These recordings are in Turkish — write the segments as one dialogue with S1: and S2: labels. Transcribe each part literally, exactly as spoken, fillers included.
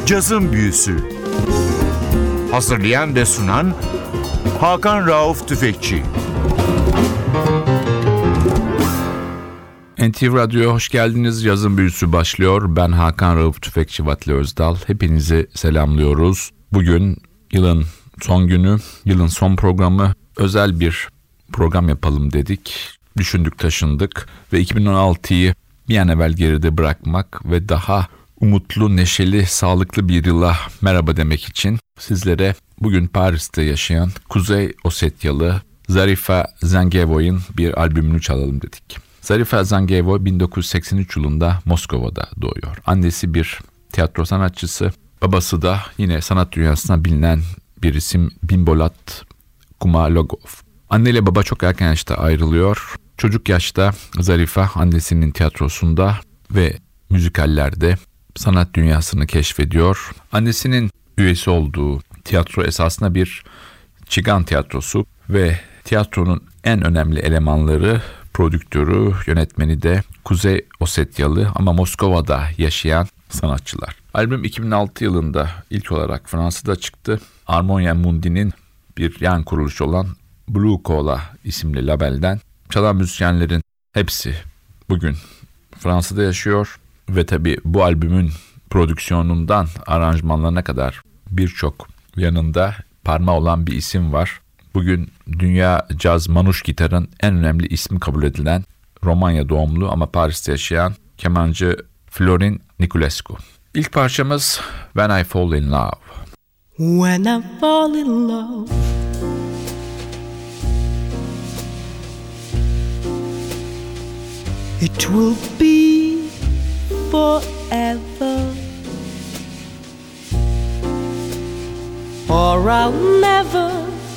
S1: Cazın Büyüsü. Hazırlayan ve sunan Hakan Rauf Tüfekçi.
S2: N T V Radyo'ya hoş geldiniz. Yazın Büyüsü başlıyor. Ben Hakan Rauf Tüfekçi Vatli Özdal. Hepinizi selamlıyoruz. Bugün yılın son günü, yılın son programı. Özel bir program yapalım dedik. Düşündük, taşındık ve iki bin on altıyı bir an evvel geride bırakmak ve daha umutlu, neşeli, sağlıklı bir yıla merhaba demek için sizlere bugün Paris'te yaşayan Kuzey Osetyalı Zarifa Zangevo'nun bir albümünü çalalım dedik. Zarifa Zangevo bin dokuz yüz seksen üç yılında Moskova'da doğuyor. Annesi bir tiyatro sanatçısı, babası da yine sanat dünyasına bilinen bir isim Bimbolat Kumalogov. Anne ile baba çok erken yaşta ayrılıyor. Çocuk yaşta Zarifa annesinin tiyatrosunda ve müzikallerde sanat dünyasını keşfediyor. Annesinin üyesi olduğu tiyatro esasında bir çigan tiyatrosu ve tiyatronun en önemli elemanları, prodüktörü, yönetmeni de Kuzey Osetyalı ama Moskova'da yaşayan sanatçılar. Albüm iki bin altı yılında ilk olarak Fransa'da çıktı. Harmonia Mundi'nin bir yan kuruluşu olan Blue Cola isimli labelden. Çalan müzisyenlerin hepsi bugün Fransa'da yaşıyor ve tabii bu albümün prodüksiyonundan aranjmanlarına kadar birçok yanında parmağı olan bir isim var. Bugün dünya caz manuş gitarın en önemli ismi kabul edilen Romanya doğumlu ama Paris'te yaşayan kemancı Florin Niculescu. İlk parçamız When I Fall in Love.
S3: When I fall in love, it will be forever, or I'll never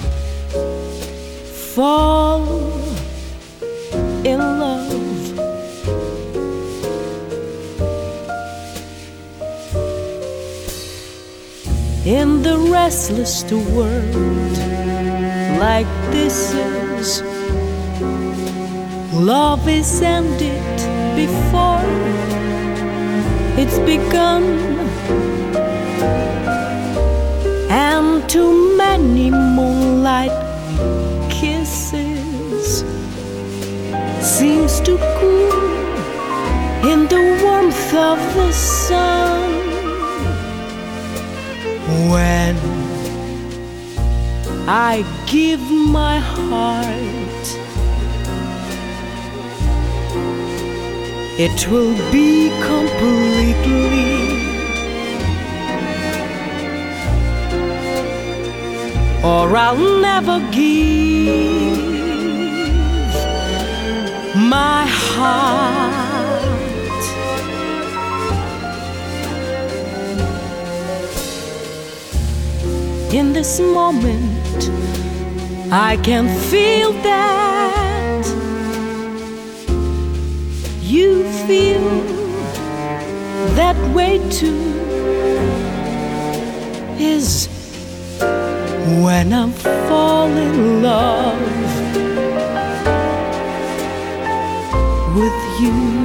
S3: fall in love. In the restless world like this is, love is ended before it's begun, and too many moonlight kisses seems to cool in the warmth of the sun. When I give my heart, it will be completely, or I'll never give my heart. In this moment, I can feel that you feel that way too. Is when I fall in love with you.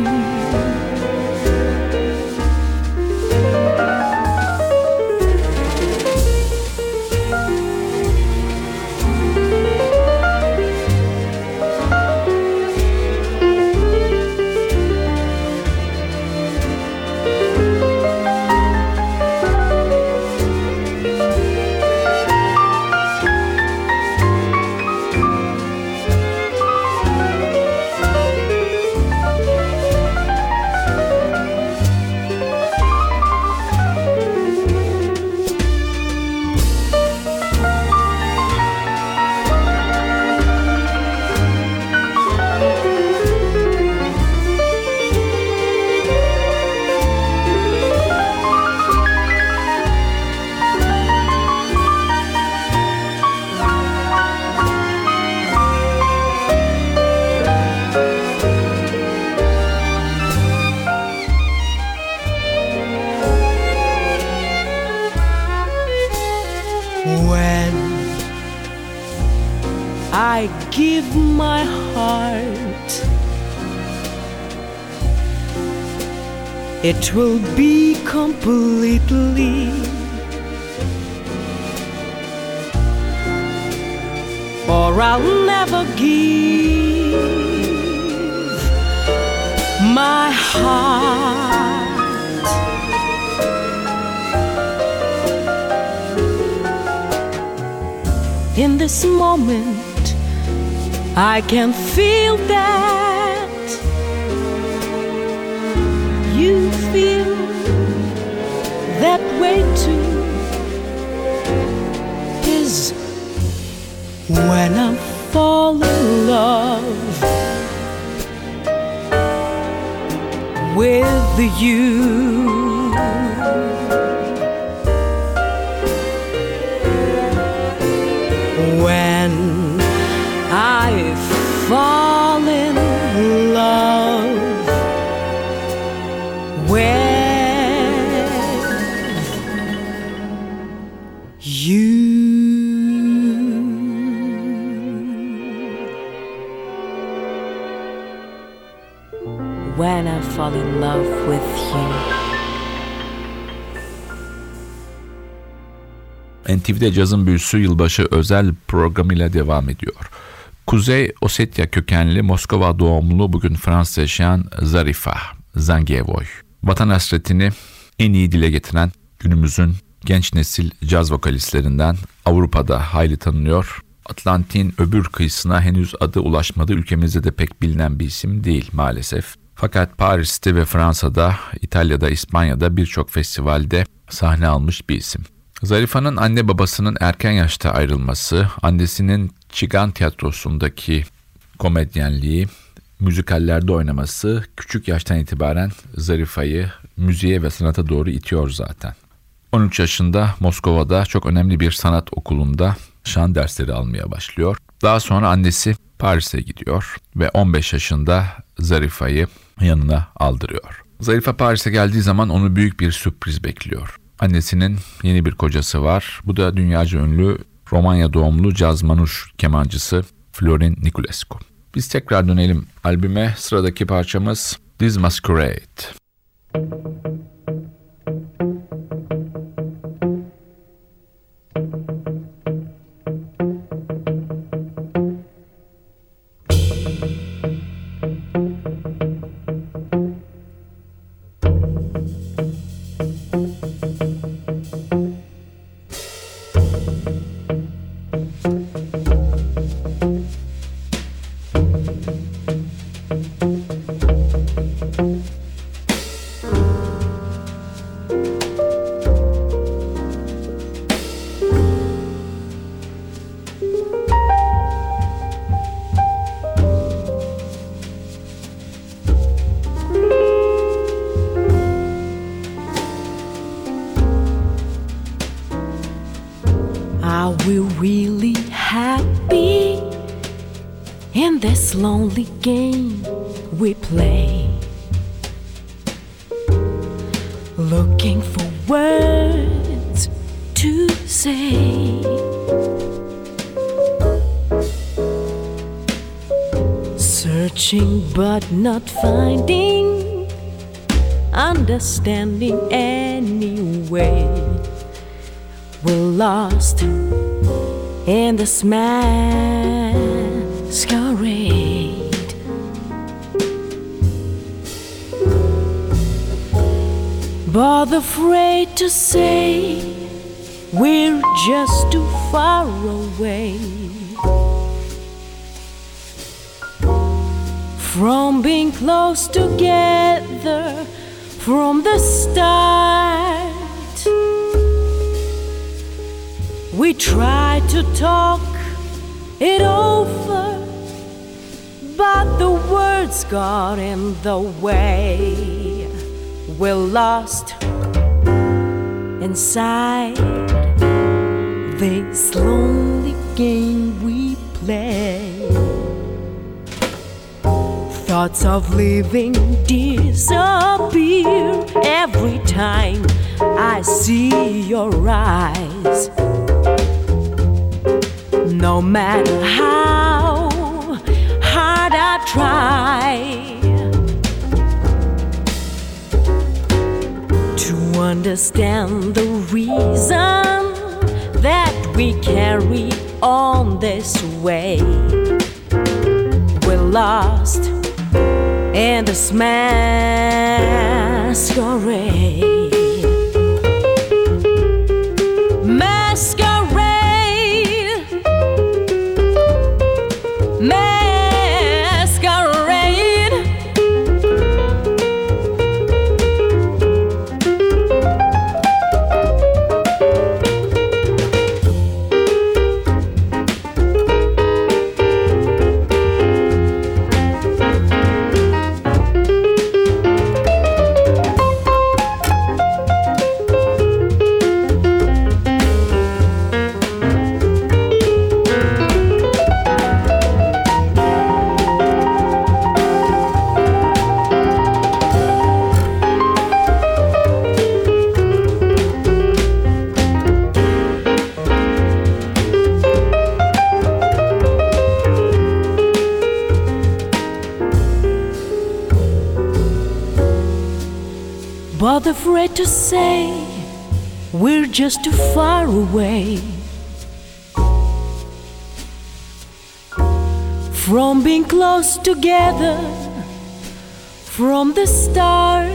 S3: When I give my heart, it will be completely. Or I'll never give my heart. In this moment, I can feel that you feel that way too. Is when I fall in love with you. When I fall in love with you. When I fall in love with you.
S2: N T V'de Cazın Büyüsü yılbaşı özel programıyla devam ediyor. Kuzey Ossetya kökenli Moskova doğumlu bugün Fransa'da yaşayan Zarifa Zangievoy. Vatan hasretini en iyi dile getiren günümüzün genç nesil caz vokalistlerinden, Avrupa'da hayli tanınıyor. Atlantik'in öbür kıyısına henüz adı ulaşmadı, ülkemizde de pek bilinen bir isim değil maalesef. Fakat Paris'te ve Fransa'da, İtalya'da, İspanya'da birçok festivalde sahne almış bir isim. Zarifa'nın anne babasının erken yaşta ayrılması, annesinin Çigan tiyatrosundaki komedyenliği, müzikallerde oynaması küçük yaştan itibaren Zarifa'yı müziğe ve sanata doğru itiyor zaten. on üç yaşında Moskova'da çok önemli bir sanat okulunda şan dersleri almaya başlıyor. Daha sonra annesi Paris'e gidiyor ve on beş yaşında Zarifa'yı yanına aldırıyor. Zarifa Paris'e geldiği zaman onu büyük bir sürpriz bekliyor. Annesinin yeni bir kocası var. Bu da dünyaca ünlü Romanya doğumlu caz manuş kemancısı Florin Niculescu. Biz tekrar dönelim albüme. Sıradaki parçamız This Masquerade.
S3: Are we really happy in this lonely game we play? Looking for words to say, searching but not finding understanding anyway. We're lost in this masquerade. But afraid to say we're just too far away from being close together from the start. We tried to talk it over, but the words got in the way. We're lost inside this lonely game we play. Thoughts of living disappear every time I see your eyes. No matter how hard I try, understand the reason that we carry on this way. We're lost in this masquerade. Masquerade, masquerade. But afraid to say we're just too far away from being close together from the start.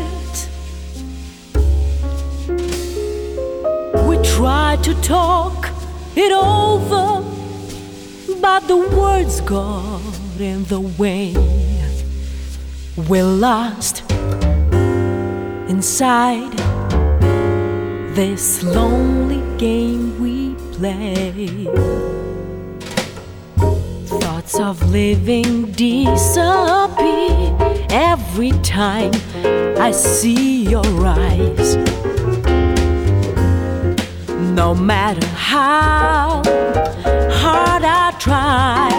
S3: We try to talk it over, but the words got in the way. We're lost inside this lonely game we play. Thoughts of living disappear every time I see your eyes. No matter how hard I try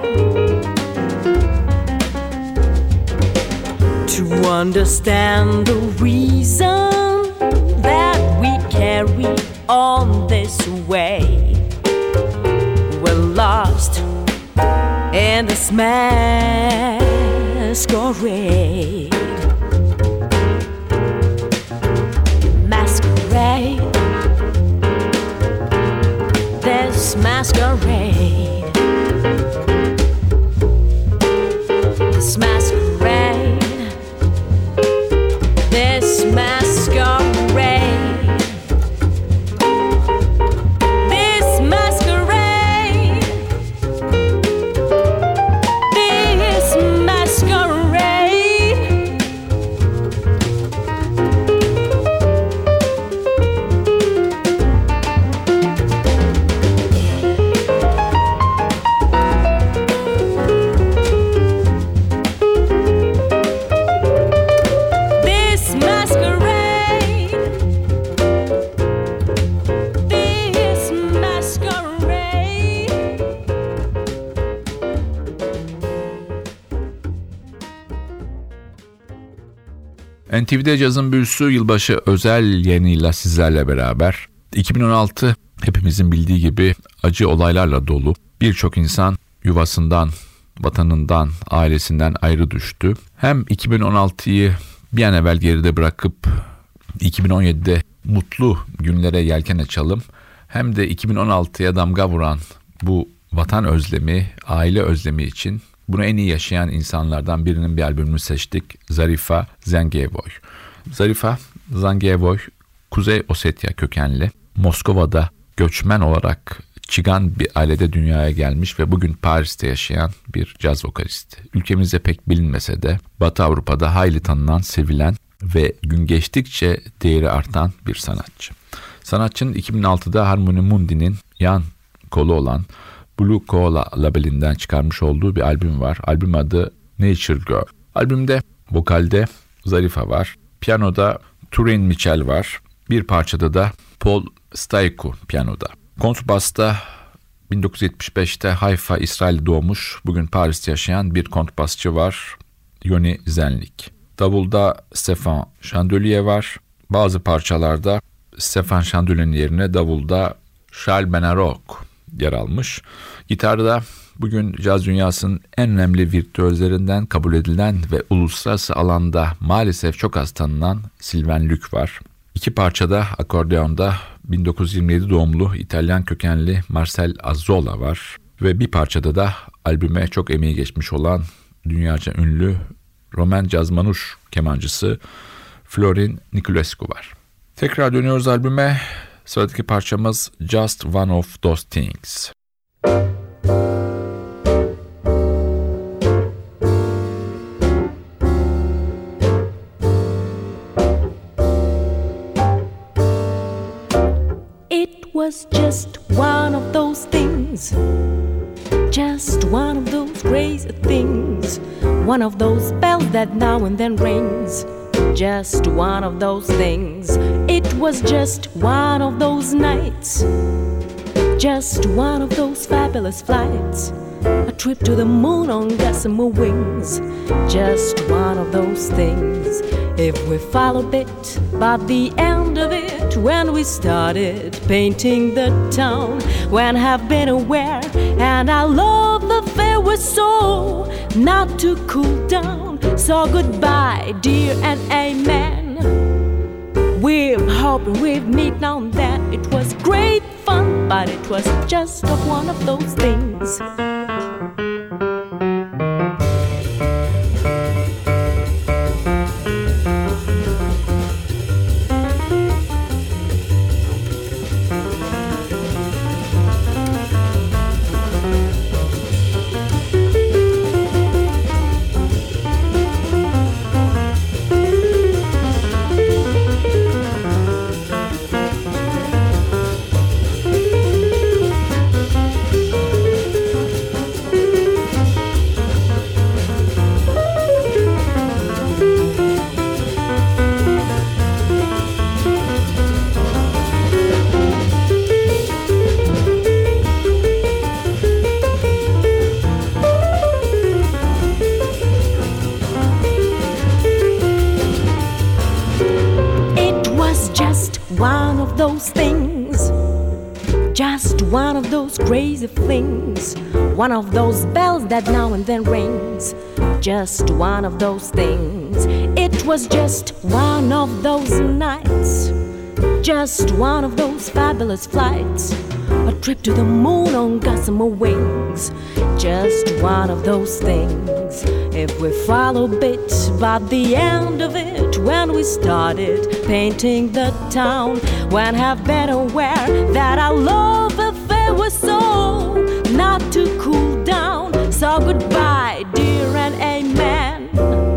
S3: to understand the reason that we carry on this way. We're lost in this masquerade. Masquerade, this masquerade, this masquerade. This masquerade, this masquerade, this masquerade.
S2: N T V'de Cazın Büyüsü yılbaşı özel yayınıyla sizlerle beraber. iki bin on altı hepimizin bildiği gibi acı olaylarla dolu. Birçok insan yuvasından, vatanından, ailesinden ayrı düştü. Hem iki bin on altıyı bir an evvel geride bırakıp iki bin on yedide mutlu günlere yelken açalım. Hem de iki bin on altıya damga vuran bu vatan özlemi, aile özlemi için bunu en iyi yaşayan insanlardan birinin bir albümünü seçtik. Zarifa Zangiyevoy. Zarifa Zangiyevoy, Kuzey Ossetya kökenli. Moskova'da göçmen olarak Çigan bir ailede dünyaya gelmiş ve bugün Paris'te yaşayan bir caz vokalisti. Ülkemizde pek bilinmese de Batı Avrupa'da hayli tanınan, sevilen ve gün geçtikçe değeri artan bir sanatçı. Sanatçının iki bin altıda Harmony Mundi'nin yan kolu olan Blue Koala labelinden çıkarmış olduğu bir albüm var. Albüm adı Nature Girl. Albümde vokalde Zarifa var. Piyanoda Turin Mitchell var. Bir parçada da Paul Staiku piyanoda. Kontrbasta bin dokuz yüz yetmiş beşte Haifa, İsrail'de doğmuş, bugün Paris'te yaşayan bir kontrbasçı var. Yoni Zenlik. Davulda Stefan Chandelier var. Bazı parçalarda Stefan Chandelier'in yerine davulda Charles Benarok yer almış. Gitarda bugün caz dünyasının en önemli virtüözlerinden kabul edilen ve uluslararası alanda maalesef çok az tanınan Sylvain Luc var. İki parçada akordeonda bin dokuz yüz yirmi yedi doğumlu İtalyan kökenli Marcel Azzola var ve bir parçada da albüme çok emeği geçmiş olan dünyaca ünlü Roman caz manuş kemancısı Florin Niculescu var. Tekrar dönüyoruz albüme. Sıradaki parçamız Just One of Those Things.
S3: It was just one of those things, just one of those crazy things, one of those bells that now and then rings, just one of those things. It was just one of those nights, just one of those fabulous flights, a trip to the moon on gossamer wings, just one of those things. If we followed it, by the end of it, when we started painting the town, when have been aware, and I love the fair was so not to cool down. So goodbye, dear, and amen. We're hoping we'd meet now and then. It was great fun, but it was just one of those things. One of those things, just one of those crazy flings, one of those bells that now and then rings, just one of those things. It was just one of those nights, just one of those fabulous flights, a trip to the moon on gossamer wings, just one of those things. If we follow bit by the end of it, when we started painting the town, when have been aware that our love affair was so not to cool down. So goodbye, dear, and amen.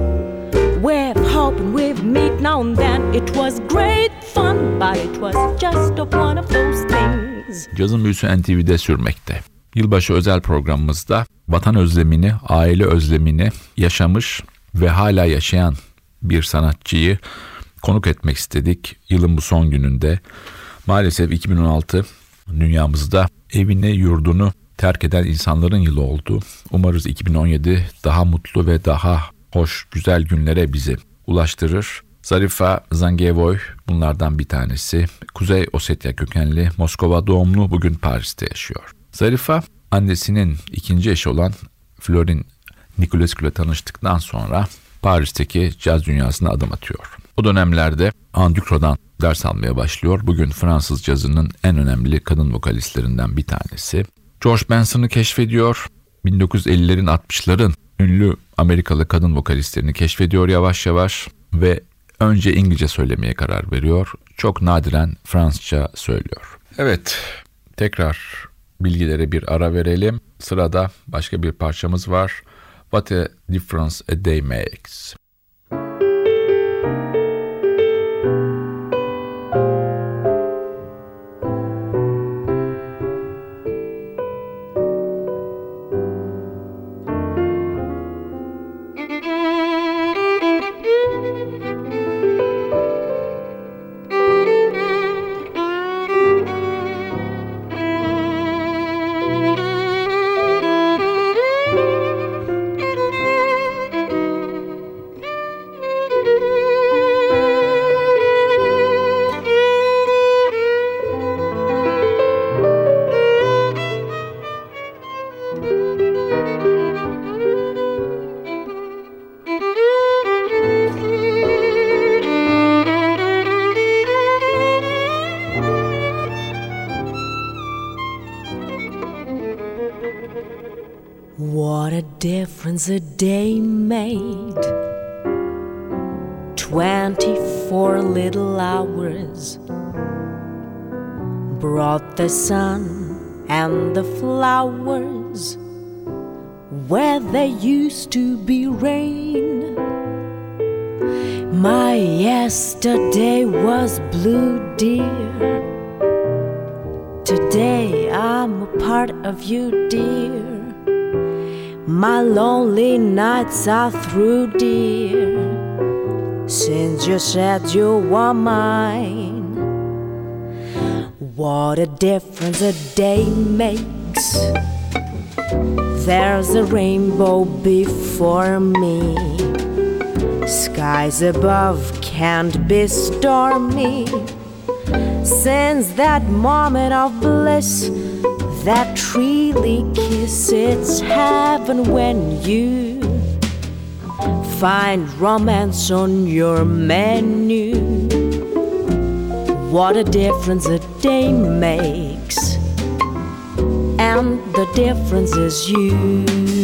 S3: We're hoping we'd meet now and then. It was great fun, but it was just one of those things.
S2: Cazın büyüsü N T V'de sürmekte. Yılbaşı özel programımızda vatan özlemini, aile özlemini yaşamış ve hala yaşayan bir sanatçıyı konuk etmek istedik. Yılın bu son gününde maalesef iki bin on altı dünyamızda evini, yurdunu terk eden insanların yılı oldu. Umarız iki bin on yedi daha mutlu ve daha hoş, güzel günlere bizi ulaştırır. Zarifa Zangevoy bunlardan bir tanesi. Kuzey Ossetya kökenli, Moskova doğumlu, bugün Paris'te yaşıyor. Zarifa annesinin ikinci eşi olan Florin Niculescu ile tanıştıktan sonra Paris'teki caz dünyasına adım atıyor. O dönemlerde Anne Ducrot'dan ders almaya başlıyor. Bugün Fransız cazının en önemli kadın vokalistlerinden bir tanesi. George Benson'ı keşfediyor. bin dokuz yüz ellilerin altmışların ünlü Amerikalı kadın vokalistlerini keşfediyor yavaş yavaş ve önce İngilizce söylemeye karar veriyor. Çok nadiren Fransızca söylüyor. Evet, tekrar bilgilere bir ara verelim. Sırada başka bir parçamız var. What a Difference a Day Makes.
S3: What a difference a day made. Twenty-four little hours brought the sun and the flowers where there used to be rain. My yesterday was blue, dear. Today I'm a part of you, dear. My lonely nights are through, dear, since you said you were mine. What a difference a day makes. There's a rainbow before me. Skies above can't be stormy. Since that moment of bliss, that really kiss, it's heaven when you find romance on your menu. What a difference a day makes, and the difference is you.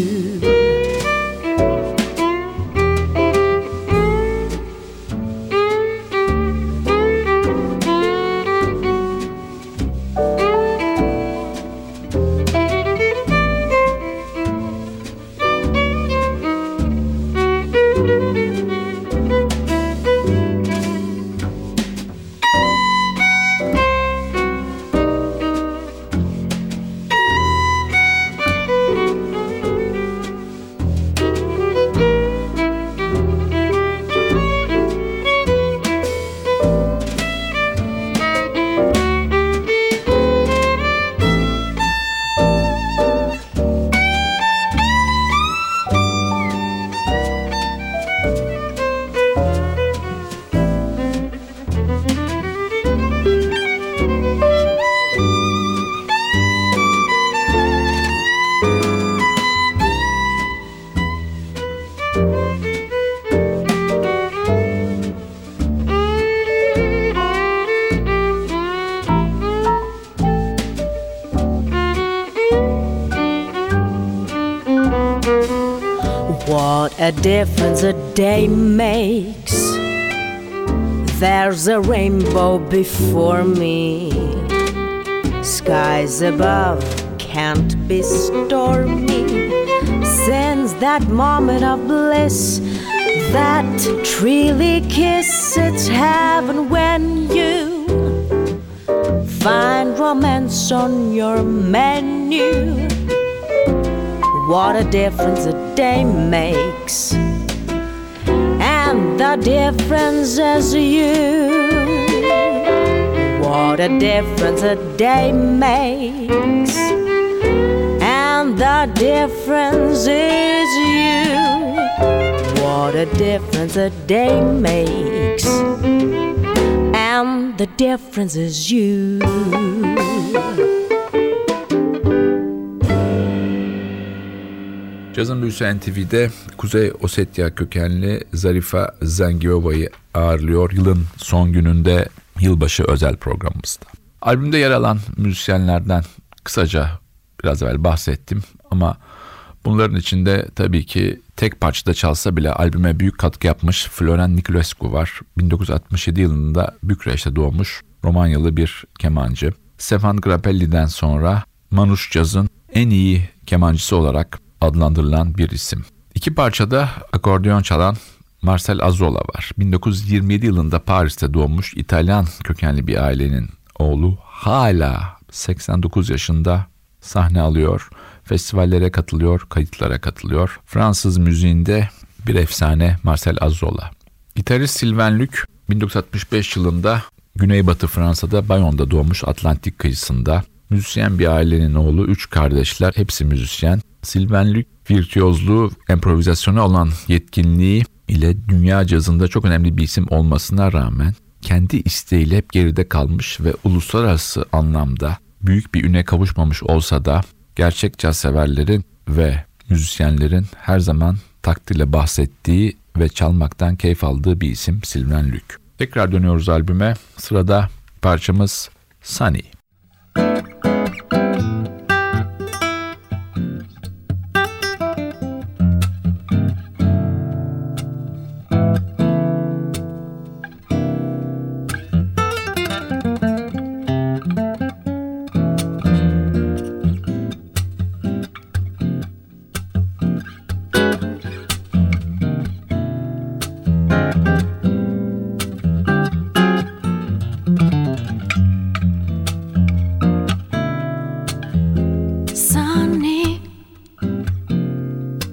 S3: What a difference a day makes. There's a rainbow before me. Skies above can't be stormy. Since that moment of bliss, that truly kiss, it's heaven when you find romance on your menu. What a difference a day makes, and the difference is you. What a difference a day makes, and the difference is you. What a difference a day makes, and the difference is you.
S2: Cazın Büyüsü N T V'de Kuzey Ossetya kökenli Zarifa Zengiova'yı ağırlıyor yılın son gününde, yılbaşı özel programımızda. Albümde yer alan müzisyenlerden kısaca biraz evvel bahsettim ama bunların içinde tabii ki tek parçada çalsa bile albüme büyük katkı yapmış Floren Niculescu var. bin dokuz yüz altmış yedi yılında Bükreş'te doğmuş Romanyalı bir kemancı. Stefan Grappelli'den sonra Manouche Caz'ın en iyi kemancısı olarak adlandırılan bir isim. İki parçada akordeon çalan Marcel Azzola var. bin dokuz yüz yirmi yedi yılında Paris'te doğmuş İtalyan kökenli bir ailenin oğlu. Hala seksen dokuz yaşında sahne alıyor, festivallere katılıyor, kayıtlara katılıyor. Fransız müziğinde bir efsane Marcel Azzola. Gitarist Sylvain Luc bin dokuz yüz altmış beş yılında Güneybatı Fransa'da Bayon'da doğmuş, Atlantik kıyısında. Müzisyen bir ailenin oğlu, üç kardeşler, hepsi müzisyen. Sylvain Luc virtüozluğu, improvizasyona olan yetkinliği ile dünya cazında çok önemli bir isim olmasına rağmen kendi isteğiyle hep geride kalmış ve uluslararası anlamda büyük bir üne kavuşmamış olsa da gerçek caz severlerin ve müzisyenlerin her zaman takdirle bahsettiği ve çalmaktan keyif aldığı bir isim Sylvain Luc. Tekrar dönüyoruz albüme. Sırada parçamız Sunny.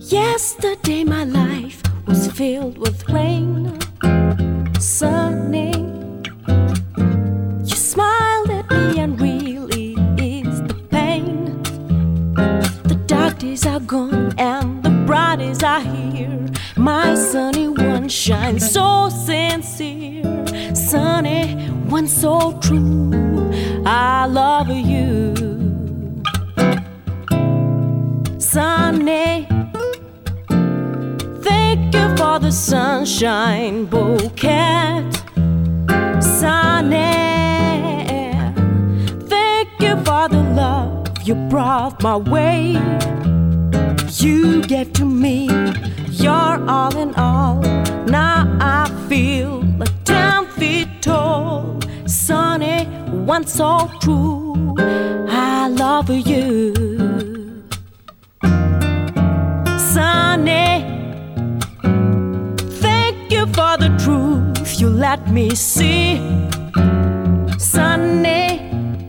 S3: Yesterday my life was filled with rain, sunny. You smiled at me and really eased the pain. The dark days are gone and the bright days are here. My sunny one shines so sincere. Sunny one so true, I love you. Sunny, thank you for the sunshine bouquet. Sunny, thank you for the love you brought my way. You gave to me your all in all. Now I feel like ten feet tall. Sunny, one so true, I love you. Sunny, thank you for the truth you let me see. Sunny,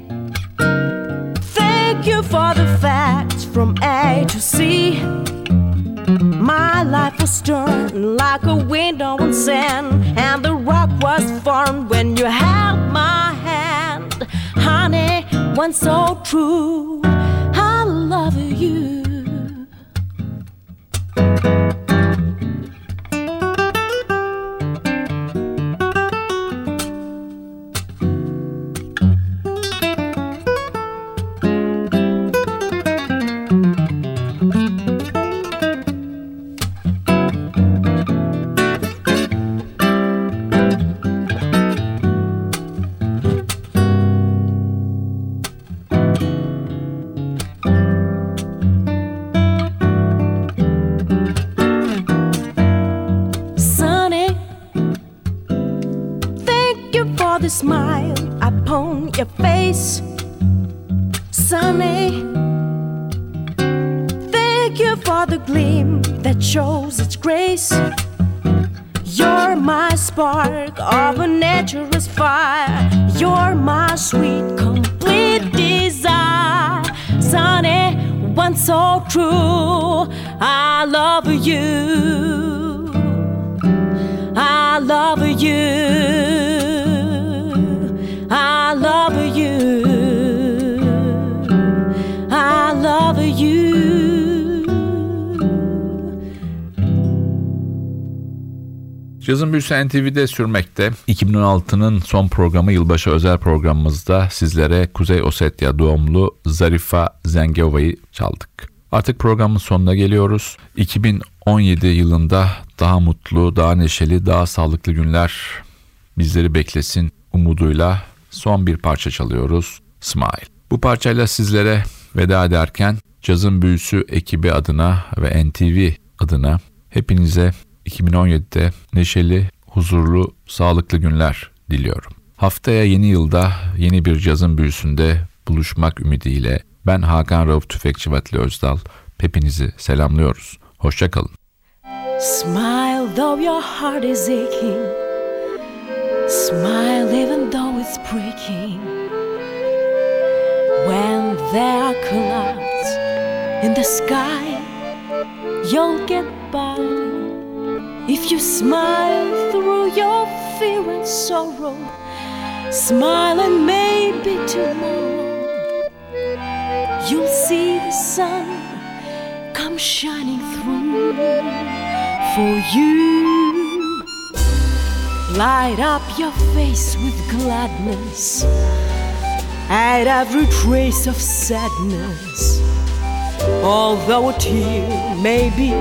S3: thank you for the facts from A to Z. My life was turned like a window on sand, and the rock was formed when you held my hand. Honey, one so true, I love you. The smile upon your face, Sunny, thank you for the gleam that shows its grace. You're my spark of a naturous fire. You're my sweet complete desire. Sunny, one so true, I love you. I love you. I love you. I love you.
S2: Cazın Büyüsü N T V'de sürmekte. iki bin on altının son programı, yılbaşı özel programımızda sizlere Kuzey Ossetya doğumlu Zarifa Zengiova'yı çaldık. Artık programın sonuna geliyoruz. iki bin on yedi yılında daha mutlu, daha neşeli, daha sağlıklı günler bizleri beklesin umuduyla son bir parça çalıyoruz. Smile. Bu parçayla sizlere veda ederken Cazın Büyüsü ekibi adına ve N T V adına hepinize iki bin on yedide neşeli, huzurlu, sağlıklı günler diliyorum. Haftaya yeni yılda yeni bir Cazın Büyüsü'nde buluşmak ümidiyle ben Hakan Rauf Tüfekçi Vatli Özdal hepinizi selamlıyoruz. Hoşça kalın.
S3: Smile though your heart is aching. Smile even though it's breaking. When there are clouds in the sky, you'll get by. If you smile through your fear and sorrow, smile and maybe tomorrow you'll see the sun come shining through for you. Light up your face with gladness, hide every trace of sadness. Although a tear may be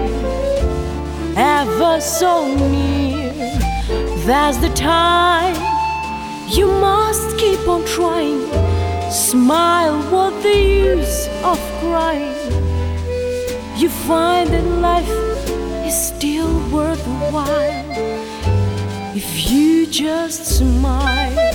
S3: ever so near, there's the time you must keep on trying. Smile, what the use of crying? You find that life is still worthwhile if you just smile.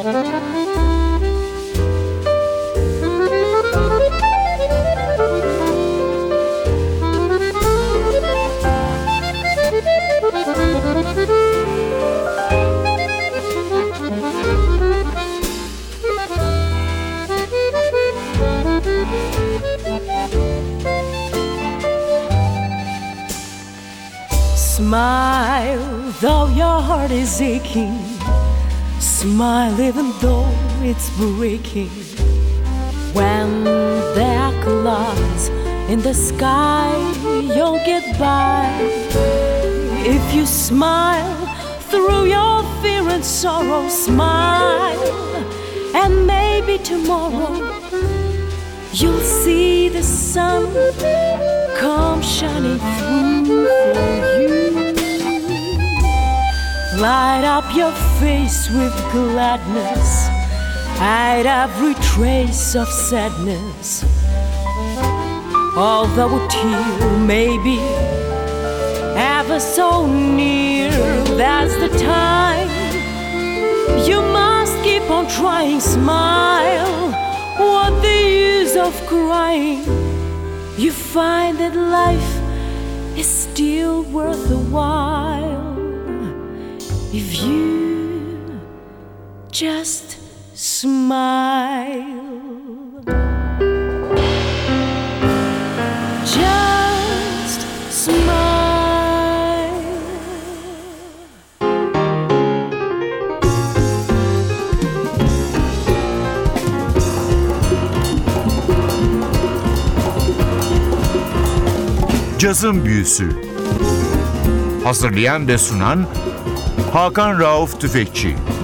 S3: Smile, though your heart is aching. Smile, even though it's breaking. When there are clouds in the sky, you'll get by. If you smile through your fear and sorrow, smile, and maybe tomorrow you'll see the sun come shining through for you. Light up your face with gladness, hide every trace of sadness. Although a tear may be ever so near, that's the time you must keep on trying. Smile, what the use of crying? You find that life is still worth a while if you just smile. Just smile.
S1: Cazın Büyüsü. Hazırlayan ve sunan Hakan Rauf Tüfekçi.